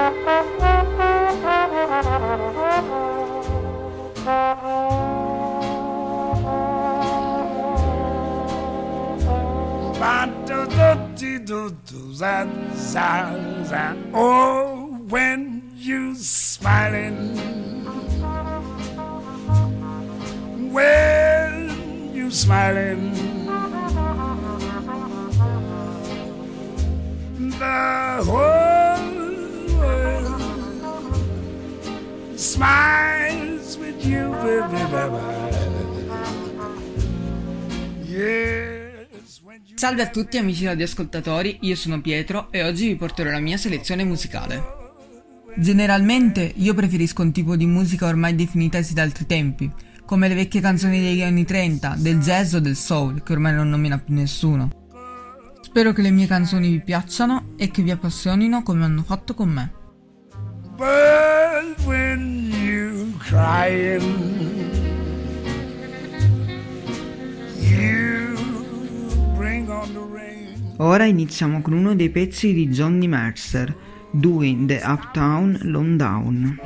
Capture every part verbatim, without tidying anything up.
Oh, when you smiling, when you smiling, the whole world smiles with you, baby, yeah. Salve a tutti amici radioascoltatori, io sono Pietro e oggi vi porterò la mia selezione musicale. Generalmente io preferisco un tipo di musica ormai definita da altri tempi, come le vecchie canzoni degli anni trenta, del jazz o del soul, che ormai non nomina più nessuno. Spero che le mie canzoni vi piacciono e che vi appassionino come hanno fatto con me. But when you crying, Ora iniziamo con uno dei pezzi di Johnny Mercer, Doing the Uptown Lowdown.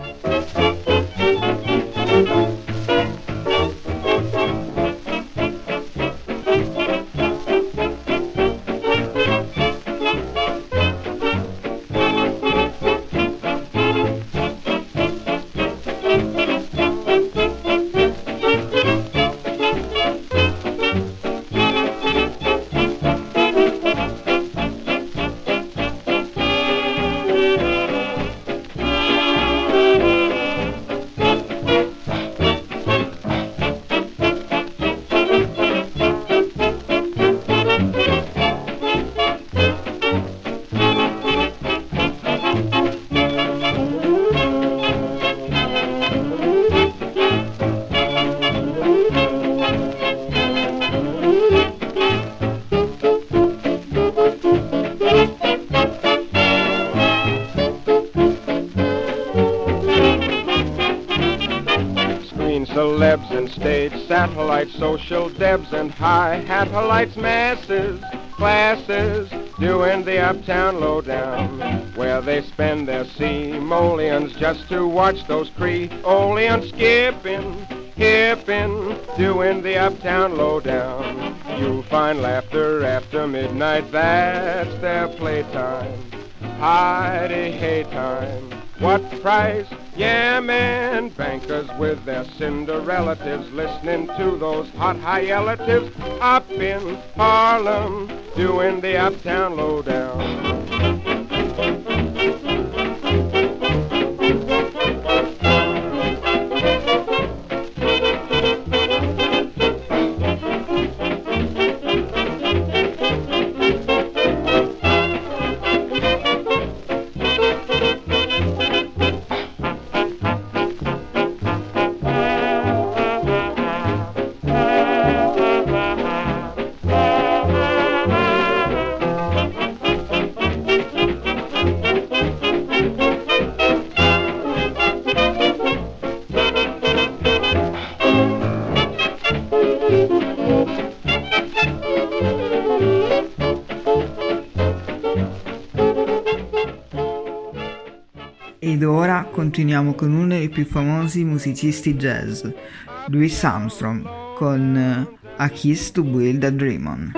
Celebs and stage satellites, social debs and high-hat-lights, masses, classes, doing the uptown lowdown, where they spend their simoleons just to watch those Creoleans skipping, hipping, doing the uptown lowdown. You'll find laughter after midnight, that's their playtime, hidey-hay time. What price? Yeah, man, bankers with their Cinderellatives, listening to those hot high-elatives up in Harlem, doing the uptown lowdown. Ed ora continuiamo con uno dei più famosi musicisti jazz, Louis Armstrong, con A Kiss to Build a Dream On.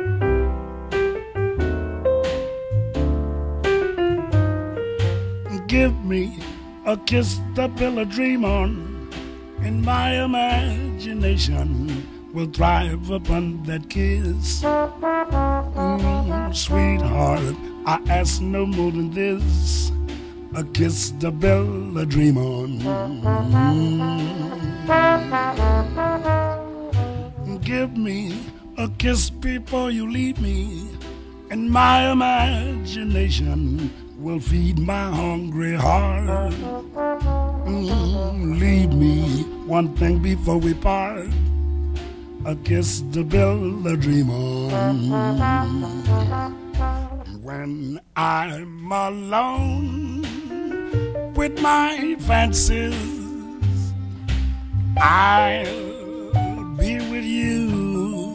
Give me a kiss to build a dream on, and my imagination will thrive upon that kiss. Mm, sweetheart, I ask no more than this, a kiss to build a dream on. Mm. Give me a kiss before you leave me, and my imagination will feed my hungry heart. Mm, leave me one thing before we part, a kiss to build a dream on. When I'm alone with my fancies, I'll be with you,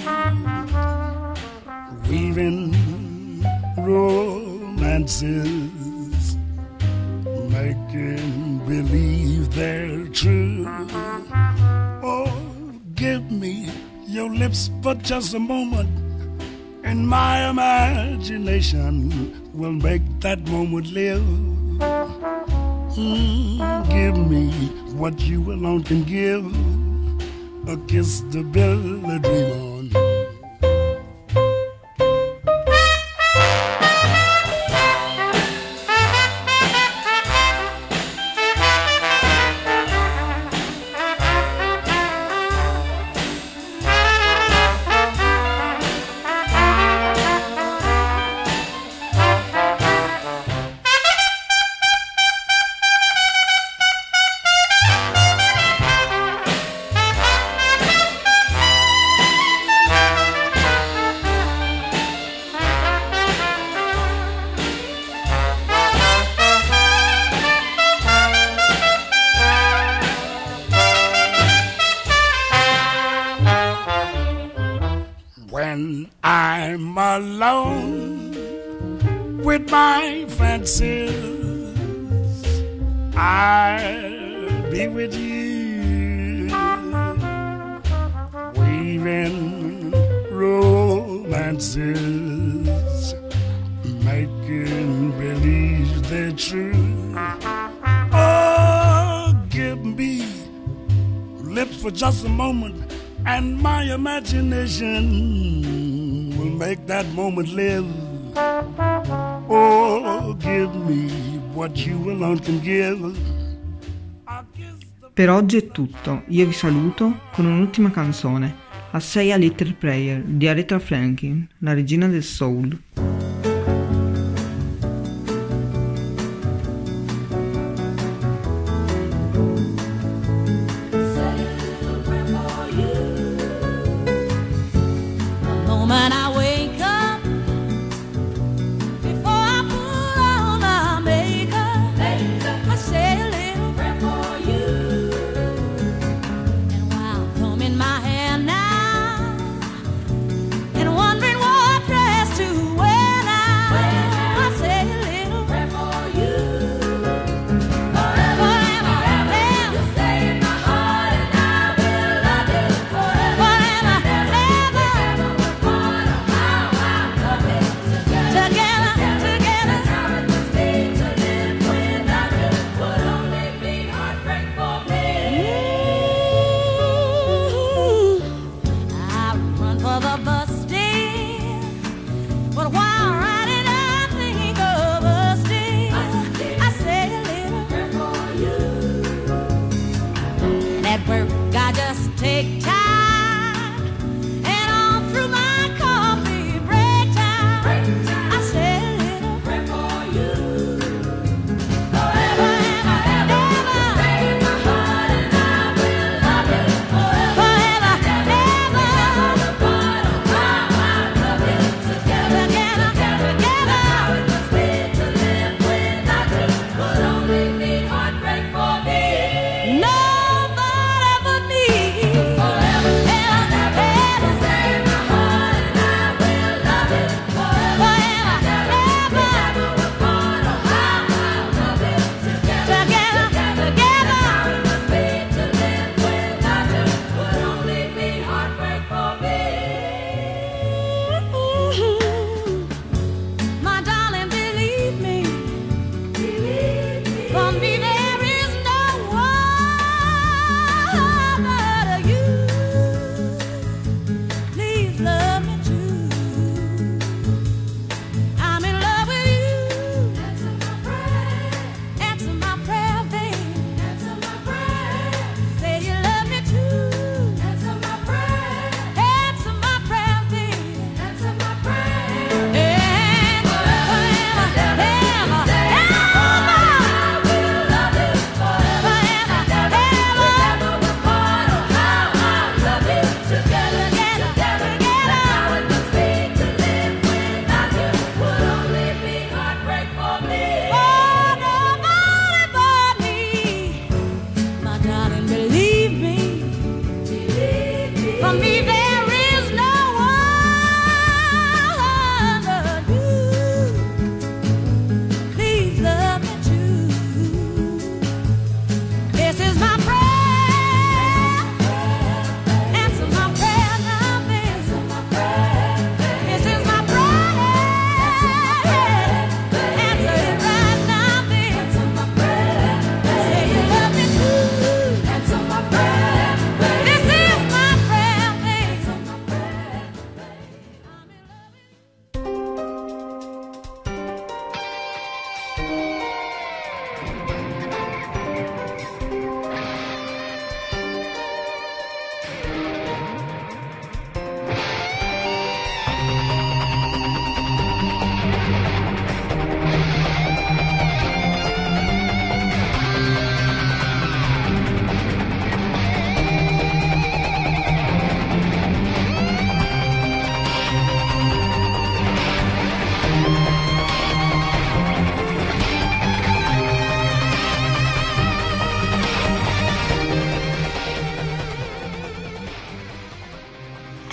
weaving romances. give me your lips for just a moment, and my imagination will make that moment live. Mm, give me what you alone can give, a kiss to build a dream on. When I'm alone with my fancies, I'll be with you, weaving romances, making believe they're true. Oh, give me lips for just a moment, and my imagination will make that moment live. Oh, give me what you alone can give. Per oggi è tutto, io vi saluto con un'ultima canzone, A Say a Little Prayer di Aretha Franklin, la regina del soul.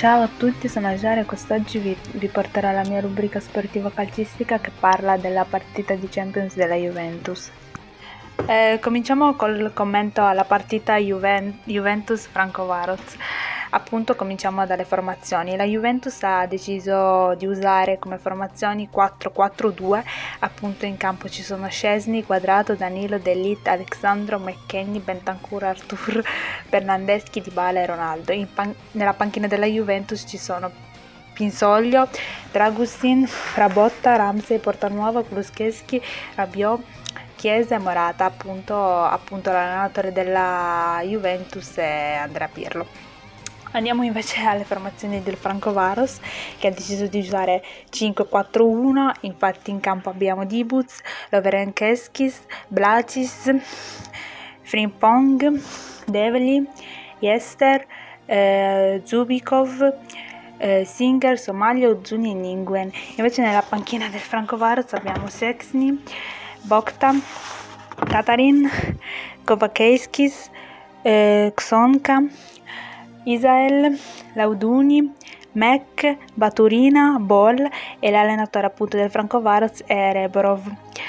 Ciao a tutti, sono Giara e quest'oggi vi, vi porterò la mia rubrica sportiva calcistica che parla della partita di Champions della Juventus. Eh, cominciamo col commento alla partita Juven- Juventus-Francovaroz. Appunto cominciamo dalle formazioni. La Juventus ha deciso di usare come formazioni quattro quattro due. Appunto in campo ci sono Szczesny, Quadrato, Danilo, De Ligt, Alexandro, McKennie, Bentancur, Artur, Bernardeschi, Dybala e Ronaldo. In pan- nella panchina della Juventus ci sono Pinsoglio, Dragusin, Frabotta, Ramsey, Portanuova, Kulusevski, Rabiot, Chiesa e Morata. Appunto, appunto l'allenatore della Juventus è Andrea Pirlo. Andiamo invece alle formazioni del Francovaroz, che ha deciso di usare cinque quattro uno. Infatti in campo abbiamo Dibuc, Lovrenkeskis, Blacis, Frimpong, Develi, Yester, eh, Zubikov, eh, Singer, Somalia, Ozuni e Ninguen. Invece nella panchina del Francovaroz abbiamo Szczesny, Bokta, Katarin, Kovakeiskis, eh, Xonka, Isael, Lauduni, Mac, Baturina, Bol e l'allenatore appunto del Francovaroz è Reborov.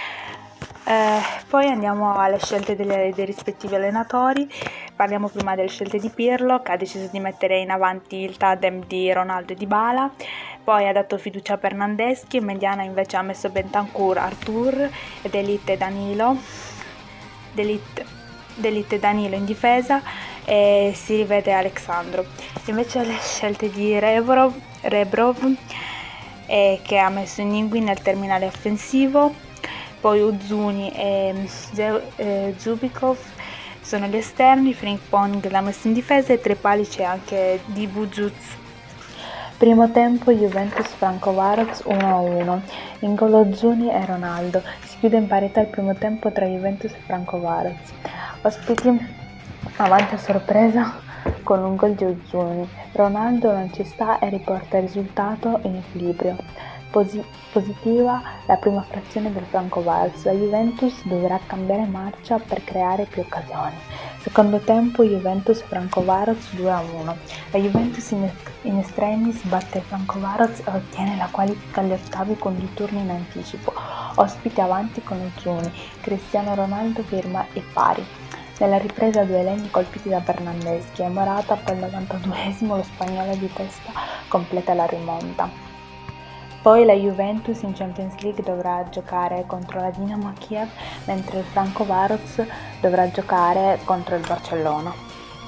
Eh, poi andiamo alle scelte delle, dei rispettivi allenatori. Parliamo prima delle scelte di Pirlo, che ha deciso di mettere in avanti il tandem di Ronaldo e Dybala. Poi ha dato fiducia a Bernardeschi, in mediana invece ha messo Bentancur, Artur, De Ligt e Danilo. De Ligt, De Ligt e Danilo in difesa e si rivede Alexandro. Invece le scelte di Reborov, Rebrov eh, che ha messo Ningui nel terminale offensivo, poi Ozuni e eh, Zubikov sono gli esterni, Frimpong l'ha messo in difesa e tra i pali c'è anche Dibuc. Primo tempo Juventus Francovaroz uno a uno, in gol Ozuni e Ronaldo. Si chiude in parità il primo tempo tra Juventus e Francovaroz. Ospiti avanti a sorpresa con un gol di Ozuni. Ronaldo non ci sta e riporta il risultato in equilibrio. Posi- positiva la prima frazione del Francovaroz. La Juventus dovrà cambiare marcia per creare più occasioni. Secondo tempo Juventus Francovaroz due a uno. La Juventus in, in estremis batte il Francovaroz e ottiene la qualifica agli ottavi con due turni in anticipo. Ospite avanti con Ozuni. Cristiano Ronaldo firma i pari. Nella ripresa due legni colpiti da Bernardeschi e Morata, poi al novantaduesimo lo spagnolo di testa completa la rimonta. Poi la Juventus in Champions League dovrà giocare contro la Dinamo Kiev, mentre il Francovaroz dovrà giocare contro il Barcellona.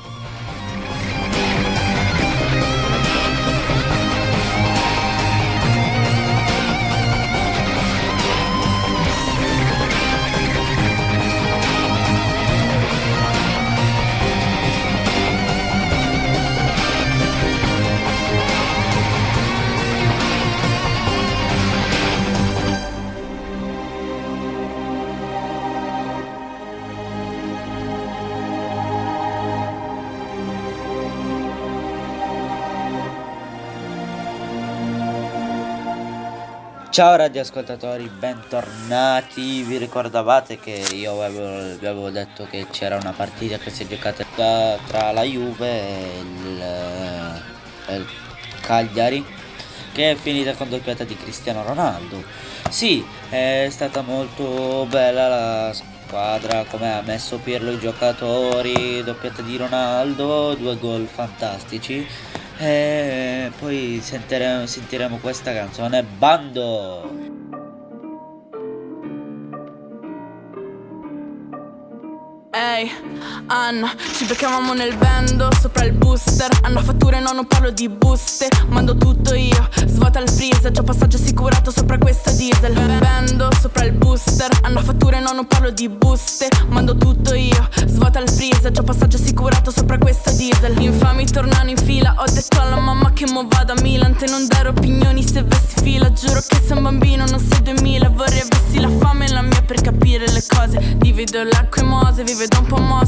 Ciao radioascoltatori, bentornati. Vi ricordavate che io avevo, vi avevo detto che c'era una partita che si è giocata tra, tra la Juve e il, e il Cagliari, che è finita con doppiata di Cristiano Ronaldo. Sì, è stata molto bella la squadra, come ha messo Pirlo i giocatori, doppiata di Ronaldo, due gol fantastici. E poi sentiremo, sentiremo questa canzone, Bando. Ehi, Anna, ci beccavamo nel bando, sopra il booster. Hanno fatture, no, non parlo di buste. Mando tutto io, svuota il freezer. Già passaggio assicurato sopra questa diesel. Bando, sopra il booster. Hanno fatture, no, non parlo di buste. Mando tutto io, svuota il freezer. Già passaggio assicurato sopra questa diesel. Infami tornano in fila, ho detto alla mamma che mo vado a Milan. Te non dare opinioni se vessi fila. Giuro che sei un bambino, non sei duemila. Vorrei avessi la fame e la mia per capire le cose. Divido l'acqua e mose, vive da un po' mosse.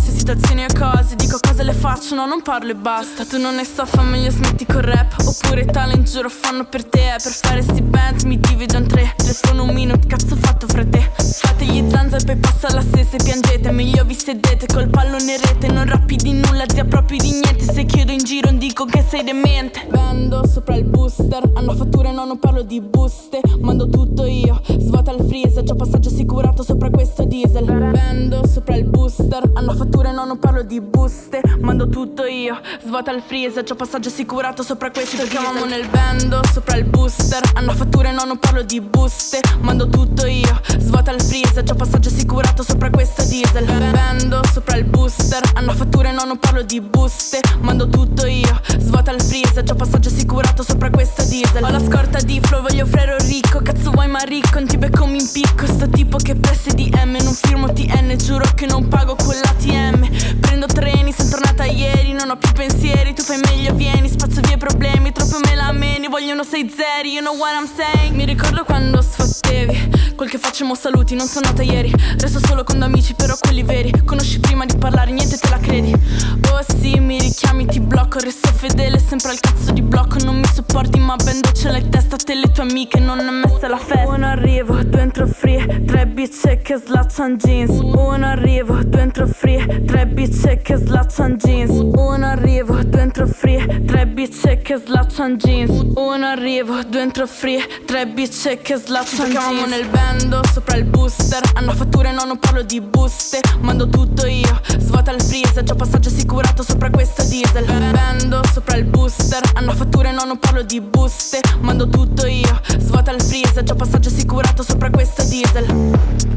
cose, situazioni e cose. Dico cose le faccio, no non parlo e basta. Tu non ne so, fa meglio smetti col rap. Oppure talent giuro fanno per te. Per fare sti bands mi divido in tre. Telefono un minute, cazzo fatto fra te. Fate gli zanza e poi passa la stessa e piangete. Meglio vi sedete col pallone in rete. Non rappi di nulla, zia proprio di niente. Se chiedo in giro dico che sei demente. Vendo sopra il booster, hanno fatture no non parlo di buste. Mando tutto io, svuota il freezer. Già passaggio assicurato sopra questo diesel. Vendo sopra il booster, hanno fatture no non parlo di buste. Mando tutto io, svuota il freezer. Già passaggio assicurato sopra questo diesel. Ci chiamiamo nel vendo sopra il booster, hanno fatture no non parlo di buste. Mando tutto io, svuota il freezer. Già passaggio assicurato sopra questo diesel. Vendo sopra il booster, hanno fatture no non parlo di buste. Mando tutto io, svuota il freezer. Già passaggio assicurato sopra questo diesel. Ho la scorta di flow, voglio frero ricco. Cazzo vuoi ma ricco, non ti becco mi impicco. Sto tipo che presse di M, non firmo T N. Giuro che non pago con l'A T M. Prendo treni, sono tornata ieri. Non ho più pensieri, tu fai meglio vieni. Spazzo via i problemi, troppo me la meni. Vogliono sei zeri, you know what I'm saying. Mi ricordo quando sfottevi quel che facciamo saluti, non sono nata ieri. Resto solo con amici, però quelli veri. Conosci prima di parlare, niente te la credi. Oh sì, mi richiami, ti blocco. Resto fedele, sempre al cazzo di blocco. Non mi sopporti, ma ben doccia la testa. Te le tue amiche, non è messa la festa. Uno arrivo, due entro free. Tre bitch che slaccian jeans. Uno arrivo, due entro free. Tre bitch che slaccian jeans. Uno arrivo, due entro free. Tre bitch che slaccian jeans. Uno arrivo, due entro free. Tre bitch che slaccian jeans. Ci chiamiamo nel vendo sopra il booster. Hanno fatture no non parlo di buste. Mando tutto io, svuota il freezer. Già passaggio assicurato sopra questo diesel. Vendo sopra il booster. Hanno fatture no non parlo di buste. Mando tutto io, svuota il freezer. Già passaggio assicurato sopra questo diesel.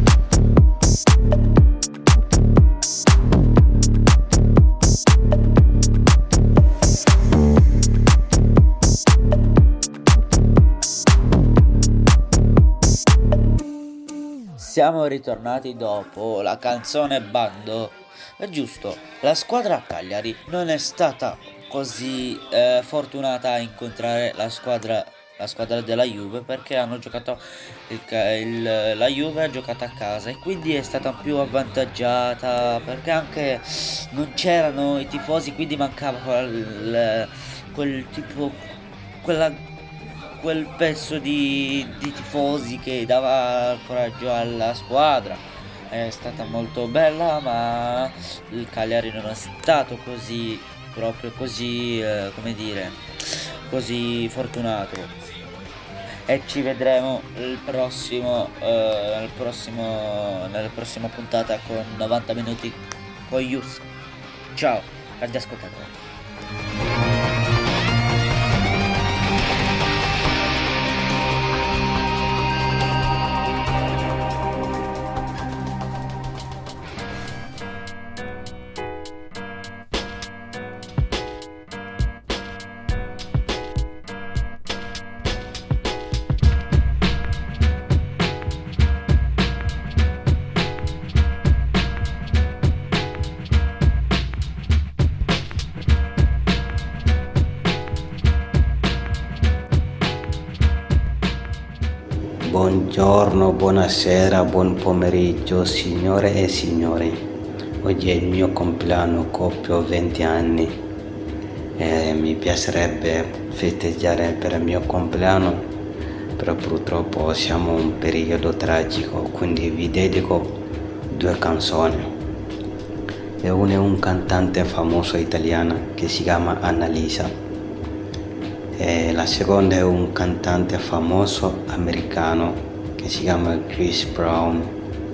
Siamo ritornati dopo la canzone Bando. È giusto, la squadra Cagliari non è stata così eh, fortunata a incontrare la squadra la squadra della Juve, perché hanno giocato il, il, la Juve ha giocato a casa e quindi è stata più avvantaggiata, perché anche non c'erano i tifosi, quindi mancava quel, quel tipo quella quel pezzo di, di tifosi che dava coraggio alla squadra. È stata molto bella, ma il Cagliari non è stato così proprio così eh, come dire così fortunato. E ci vedremo il prossimo eh, nel prossimo nella prossima puntata con novanta minuti con Yus. Ciao radioascoltatori. Buongiorno, buonasera, buon pomeriggio signore e signori. Oggi è il mio compleanno, compio venti anni e mi piacerebbe festeggiare per il mio compleanno, però purtroppo siamo in un periodo tragico, quindi vi dedico due canzoni. E una è un cantante famoso italiano che si chiama Annalisa. E la seconda è un cantante famoso americano che si chiama Chris Brown.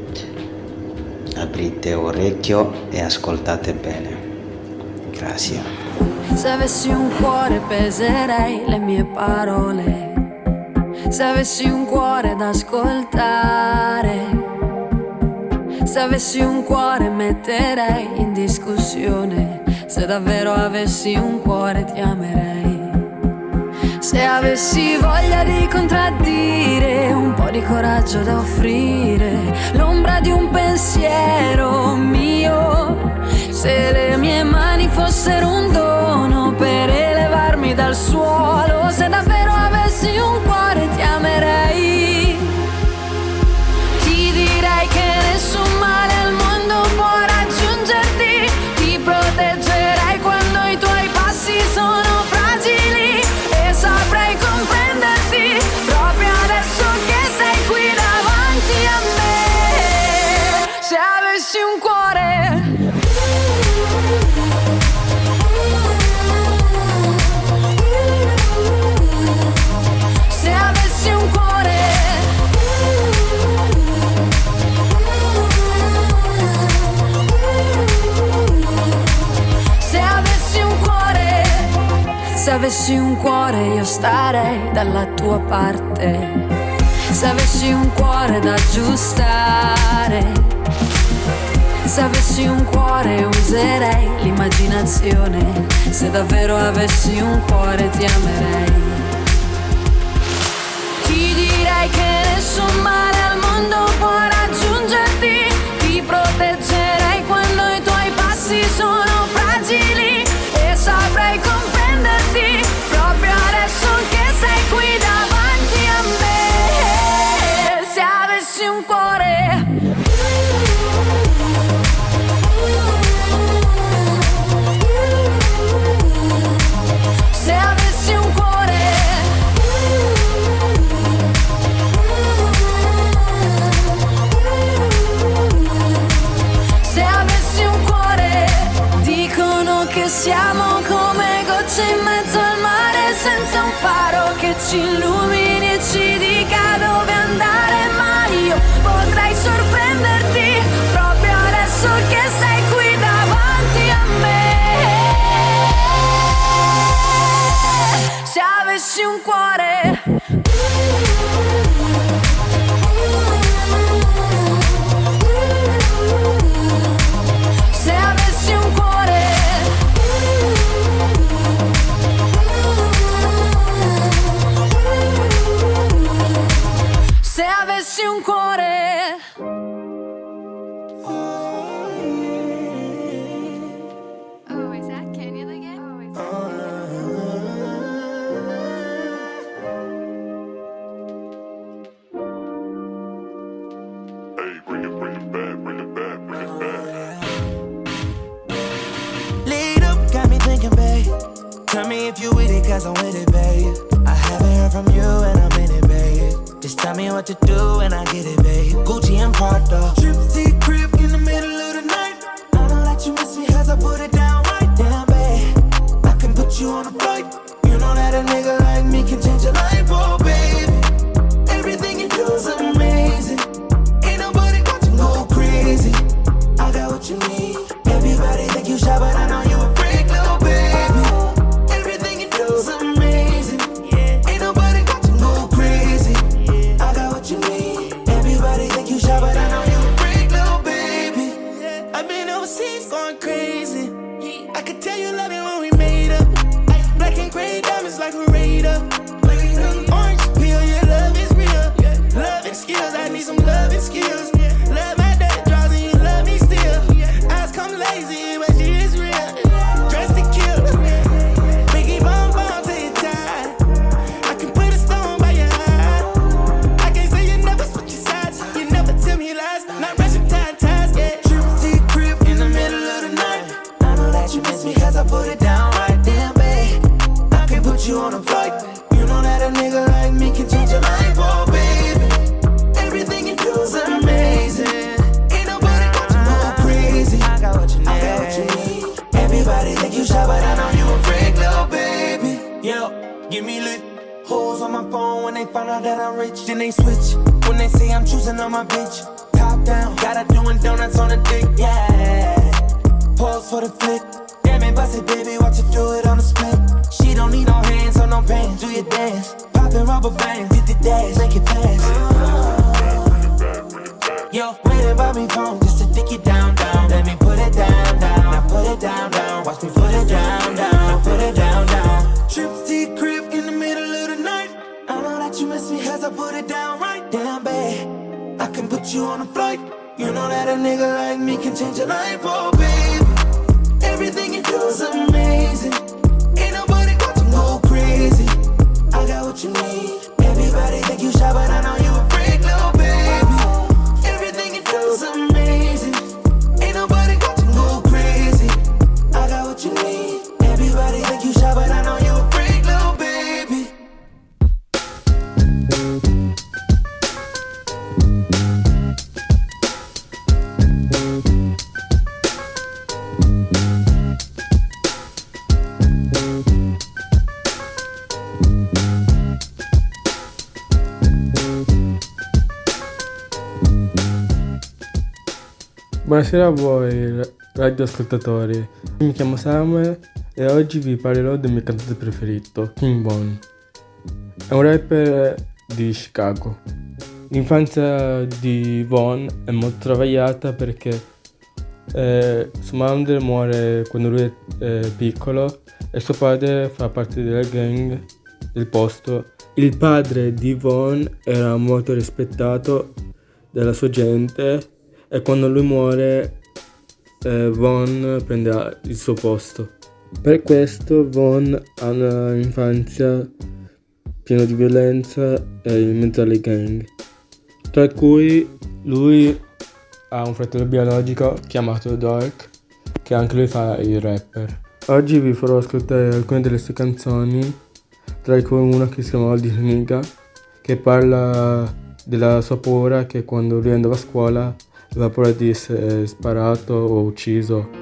Aprite orecchio e ascoltate bene. Grazie. Se avessi un cuore peserei le mie parole. Se avessi un cuore da ascoltare. Se avessi un cuore metterei in discussione. Se davvero avessi un cuore ti amerei. Se avessi voglia di contraddire, un po' di coraggio da offrire, l'ombra di un pensiero mio. Se le mie mani fossero un dono per elevarmi dal suolo, se davvero avessi un cuore ti amerei. Ti direi che nessun male al mondo può raggiungerti, avessi un cuore io starei dalla tua parte. Se avessi un cuore da aggiustare, se avessi un cuore userei l'immaginazione. Se davvero avessi un cuore ti amerei. Ti direi che nessun male al mondo può raggiungerti. Ti proteggerei quando i tuoi passi sono fragili. E saprei comprenderti proprio adesso che sei qui davanti a me. Se avessi un cuore, se avessi un cuore, se avessi un cuore. Dicono che siamo come gocce in mezzo al mare, senza un faro che ci illumini e ci dica dove andare. Ma io potrei sorprenderti proprio adesso che sei qui davanti a me. Se avessi un cuore, se avessi un cuore, se avessi un cuore. Oh, is that Kenya again? Oh, is Hey, bring it, bring it back, bring it back, bring it back. Lead up, got me thinking, babe. Tell me if you with it, cause I'm with it, babe. I haven't heard from you and I'm in it, babe. Just tell me what to do and I get it, babe. Gucci and Prada, trip to your crib in the middle of the night. I know that you miss me cause I put it down right. Damn, babe, I can put you on a flight. You know that a nigga like me can change your life, oh, baby. Everything you do is amazing. Ain't nobody got to go crazy. I got what you need. Everybody think you shy, but I know you a freak, little baby. Everything you do is amazing. Ain't nobody got to go crazy. I got what you need. Everybody think you shy, but I know you a freak, little baby. I've been overseas going crazy. I could tell you love it when we made up. Black and gray diamonds like a radar. Orange peel, your love is real. Love and skills, I need some love and skills. Love my dirty draws and you love me still. Eyes come lazy, but she is real. Dressed to kill. Biggie bomb bomb till you tired. I can put a stone by your eye. I can't say you never switch your sides. You never tell me lies. Not rushing time ties, yeah. Trip to your crib in the middle of the night. I know that you miss me cause I put it down right. Damn, babe, I can put you on a flight. You know that a nigga like me can change your life, oh, baby. Everything you do is amazing. Ain't nobody got to go crazy. I got what you need. I got what you need. Everybody think you shy, but I know you a freak, little baby. Yo, give me lit. Hoes on my phone when they find out that I'm rich. Then they switch when they say I'm choosing on my bitch. Top down, got her doing donuts on the dick, yeah. Pause for the flick. Damn it, bust it, baby, watch her do it on the split. She don't need no hands or no pants. Do your dance, poppin' rubber bands, hit the dash, make it pass. Yo, waiting by me phone just to dick it down, down. Let me put it down, down. Now put it down, down. Watch me put it down, down. Now put it down, down. Trips to your crib in the middle of the night. I know that you miss me cause I put it down right. Damn, babe, I can put you on a flight. You know that a nigga like me can change your life, oh, baby. Everything you do is amazing. Ain't nobody got to go crazy. I got what you need. Everybody think you shy, but I know you a freak, little baby. Everything you do is amazing. Ain't nobody got to go crazy. I got what you need. Everybody think you shy, but I know you a freak, little baby. Buonasera a voi radioascoltatori, mi chiamo Samuel e oggi vi parlerò del mio cantante preferito, King Von. È un rapper di Chicago. L'infanzia di Von è molto travagliata perché eh, sua madre muore quando lui è eh, piccolo e suo padre fa parte della gang del posto. Il padre di Von era molto rispettato dalla sua gente e quando lui muore eh, Von prende il suo posto. Per questo Von ha un'infanzia piena di violenza e in mezzo alle gang, tra cui lui ha un fratello biologico chiamato Dark, che anche lui fa il rapper. Oggi vi farò ascoltare alcune delle sue canzoni, tra cui una che si chiama All This Nigga, che parla della sua paura che quando lui andava a scuola aveva paura di essere sparato o ucciso.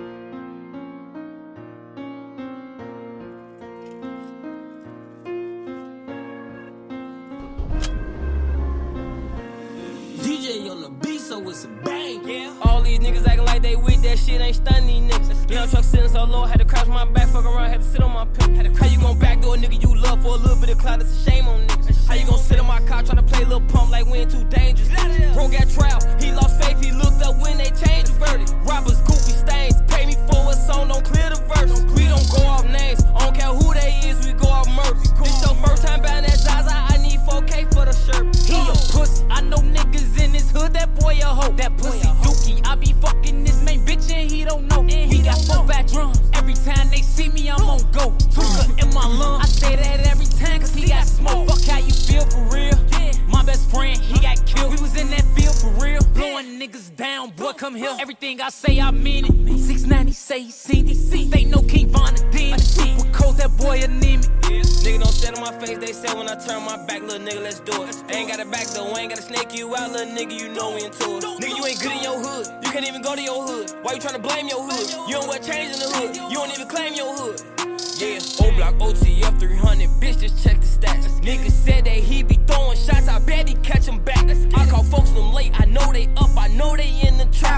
Shit ain't stunning these niggas. Young truck sitting so low, had to crouch my back, fuck around, had to sit on my pimp. How you gon' backdoor a nigga you love for a little bit of clout? It's a shame on niggas. How you gon' sit on my car tryna play a little pump like we ain't too dangerous? Bro got trial, he lost faith, he looked up when they changed the verdict. Robbers, goofy stains, pay me for a song, don't clear the verse. We don't go off names, I don't care who they is, we go off murder. This your first time buying that Zaza, I need four K for the shirt. He a pussy, I know niggas in this hood, that boy a hoe. That pussy dookie, I be fucking this main bitch and he don't know. We got four fat drums. Every time they see me, I'm on go. Tuka in my lungs. I say that every time cause he got smoke. Fuck how you feel for real. My best friend, he got killed. We was in that field for real. Blowing niggas down, boy, come here. Everything I say, I mean it. six ninety say he seen it. They know King Von a demon. Super cold, that boy anemic. Yeah. Nigga don't sit on my face, they say when I turn my back, little nigga, let's do it. Ain't got a back though, ain't gotta snake you out, little nigga, you know we into it. Nigga, you ain't good in your hood. You can't even go to your hood. Why you tryna blame your hood? You don't wear chains in the hood. You don't even claim your hood. Yeah, O-Block, O T F three hundred, bitch, just check the stats. Nigga said that he be throwing shots, I bet he catch them back. I call folks them late, I know they up, I know they in the trap.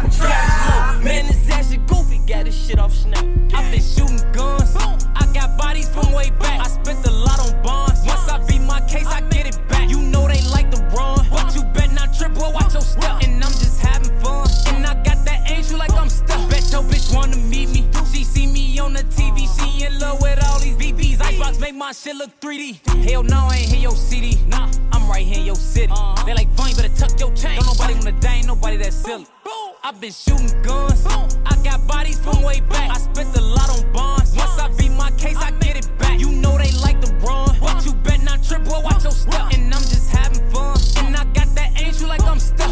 Man, this ass shit goofy, got this shit off Snap. I been shooting guns, I got bodies from way back. I spent a lot on bonds, once I beat my case, I get it back. You know they like to run, but you bet not trip, boy, watch your step. And I'm just having fun, and I got that angel like I'm stuck. Bet your bitch wanna meet me, she see me on the T V, she in love with all these B Bs. Icebox make my shit look three D. Hell no, I ain't hear your C D. Nah, I'm right here in your city. Uh-huh. They like, Vaughn, you better tuck your chain. Don't nobody wanna die, ain't nobody that silly. I been shooting guns, I got bodies from way back. I spent a lot on bonds, once I beat my case, I get it back. You know they like to run, but you bet not trip, boy, watch your step. And I'm just having fun, and I got that angel like I'm stuck.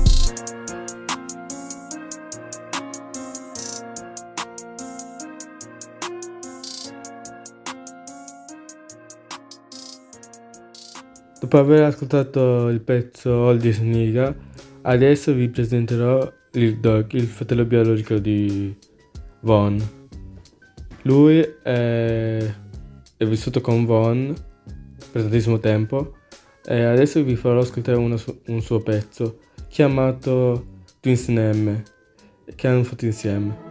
Dopo aver ascoltato il pezzo All This Nigga, adesso vi presenterò Lil Durk, il fratello biologico di Von. Lui è, è vissuto con Von per tantissimo tempo e adesso vi farò ascoltare una su- un suo pezzo chiamato Twins N M che hanno fatto insieme.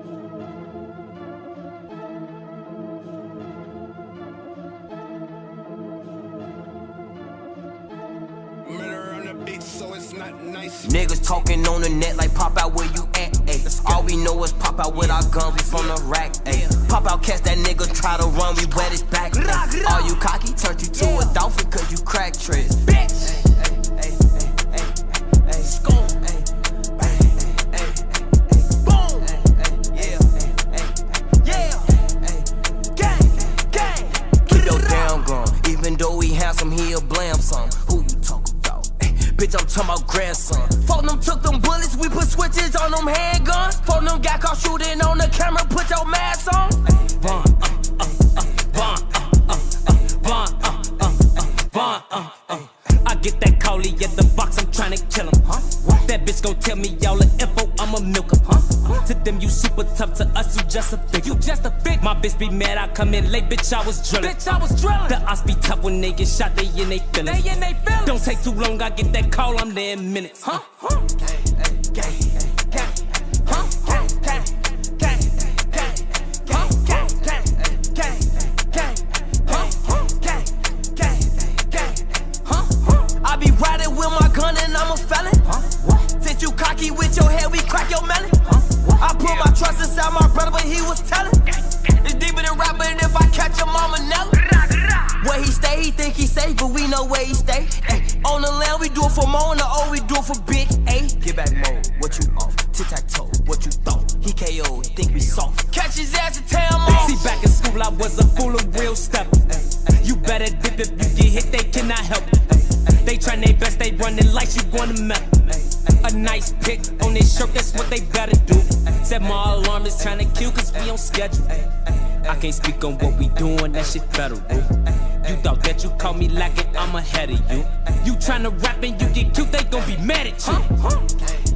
Niggas talking on the net like pop out where you at, ayy. All we know is pop out with our guns, we from the rack, ayy. Pop out, catch that nigga, try to run, we wet his back, ayy. All you cocky, turned you to a dolphin cause you crack tricks, bitch. Ayy, ayy, ayy, ayy, ayy, scone, ayy, ayy, ayy, ayy, boom, ayy, yeah, ayy, yeah, ayy, gang, gang. Keep your damn gun, even though he handsome, he'll blam some. Who you talking about? Bitch, I'm talking about grandson. Fuck them, took them bullets, we put switches on them handguns. Fuck them, got caught shooting on the camera, put your mask on. Von, uh, uh, uh, Von, uh, uh, uh, Von, uh, uh, uh, Von, uh, uh. I get that collie at the box, I'm tryna kill him. Huh? That bitch gon' tell me all the info, I'ma milk him. Huh? Huh? To them, you super tough, to us, you just a fig. You just a fig. My bitch be mad, I come in late, bitch, I was drilling. Bitch, I was drilling. The odds be tough when they get shot, they in they feelings. They in they feelings. Don't take too long, I get that call, I'm there in minutes. Huh? Huh? Gang, gang, gang, huh? Gang, gang, gang, gang, huh? Gang, gang, dip. If you get hit, they cannot help it. They trying their best, they running like you gonna melt. A nice pic on their shirt, that's what they better do. Set my alarm is trying to kill, cause we on schedule. I can't speak on what we doing, that shit federal. You thought that you caught me lacking, I'm ahead of you. You tryna rap and you get cute, they gon' be mad at you.